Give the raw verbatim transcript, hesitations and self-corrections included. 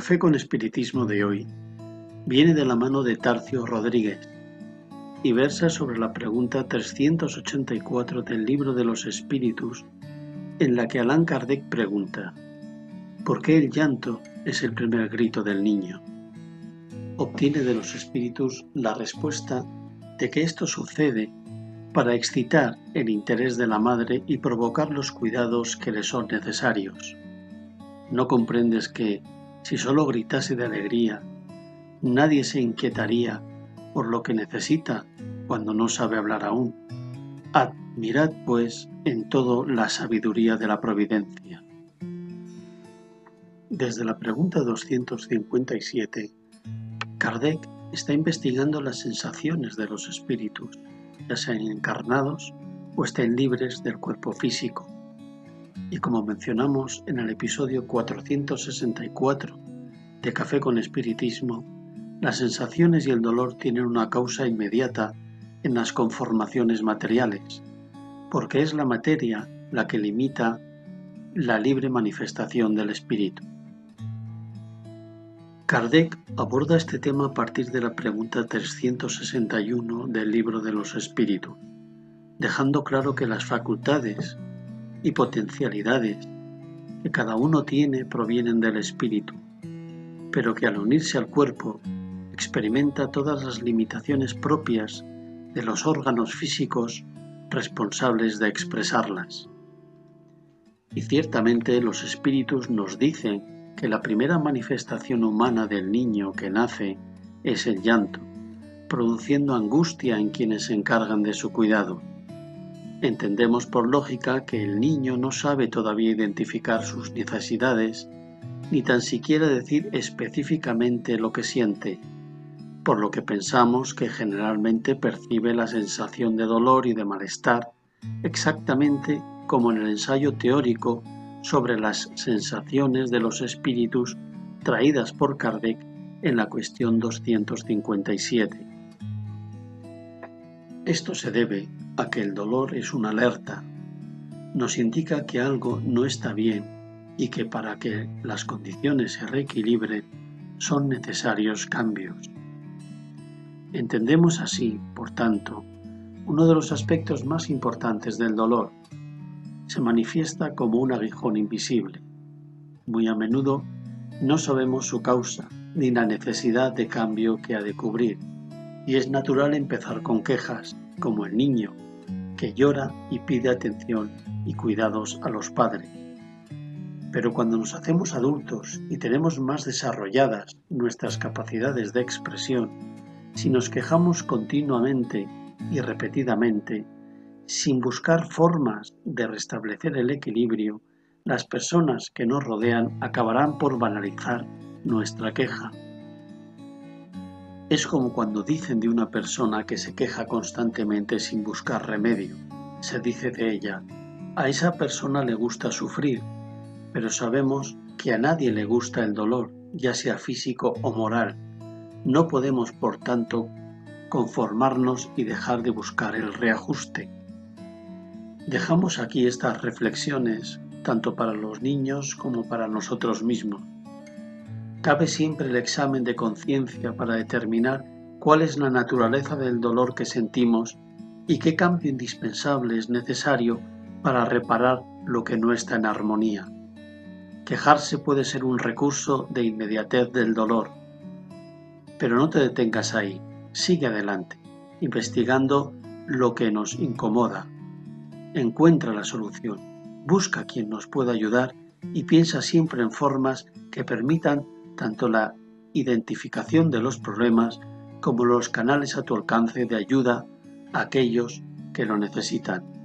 Café con Espiritismo de hoy viene de la mano de Tarcio Rodríguez y versa sobre la pregunta trescientos ochenta y cuatro del Libro de los Espíritus, en la que Allan Kardec pregunta: ¿por qué el llanto es el primer grito del niño? Obtiene de los espíritus la respuesta de que esto sucede para excitar el interés de la madre y provocar los cuidados que le son necesarios. ¿No comprendes que, si solo gritase de alegría, nadie se inquietaría por lo que necesita cuando no sabe hablar aún? Admirad, pues, en todo la sabiduría de la providencia. Desde la pregunta doscientos cincuenta y siete, Kardec está investigando las sensaciones de los espíritus, ya sean encarnados o estén libres del cuerpo físico. Y como mencionamos en el episodio cuatrocientos sesenta y cuatro de Café con Espiritismo, las sensaciones y el dolor tienen una causa inmediata en las conformaciones materiales, porque es la materia la que limita la libre manifestación del espíritu. Kardec aborda este tema a partir de la pregunta trescientos sesenta y uno del Libro de los Espíritus, dejando claro que las facultades y potencialidades que cada uno tiene provienen del espíritu, pero que al unirse al cuerpo experimenta todas las limitaciones propias de los órganos físicos responsables de expresarlas. Y ciertamente los espíritus nos dicen que la primera manifestación humana del niño que nace es el llanto, produciendo angustia en quienes se encargan de su cuidado. Entendemos por lógica que el niño no sabe todavía identificar sus necesidades, ni tan siquiera decir específicamente lo que siente, por lo que pensamos que generalmente percibe la sensación de dolor y de malestar, exactamente como en el ensayo teórico sobre las sensaciones de los espíritus traídas por Kardec en la cuestión doscientos cincuenta y siete. Esto se debe a que el dolor es una alerta, nos indica que algo no está bien y que para que las condiciones se reequilibren son necesarios cambios. Entendemos así, por tanto, uno de los aspectos más importantes del dolor. Se manifiesta como un aguijón invisible. Muy a menudo no sabemos su causa ni la necesidad de cambio que ha de cubrir, y es natural empezar con quejas, como el niño, que llora y pide atención y cuidados a los padres. Pero cuando nos hacemos adultos y tenemos más desarrolladas nuestras capacidades de expresión, si nos quejamos continuamente y repetidamente, sin buscar formas de restablecer el equilibrio, las personas que nos rodean acabarán por banalizar nuestra queja. Es como cuando dicen de una persona que se queja constantemente sin buscar remedio. Se dice de ella: a esa persona le gusta sufrir, pero sabemos que a nadie le gusta el dolor, ya sea físico o moral. No podemos, por tanto, conformarnos y dejar de buscar el reajuste. Dejamos aquí estas reflexiones, tanto para los niños como para nosotros mismos. Cabe siempre el examen de conciencia para determinar cuál es la naturaleza del dolor que sentimos y qué cambio indispensable es necesario para reparar lo que no está en armonía. Quejarse puede ser un recurso de inmediatez del dolor, pero no te detengas ahí, sigue adelante, investigando lo que nos incomoda. Encuentra la solución, busca quien nos pueda ayudar y piensa siempre en formas que permitan tanto la identificación de los problemas como los canales a tu alcance de ayuda a aquellos que lo necesitan.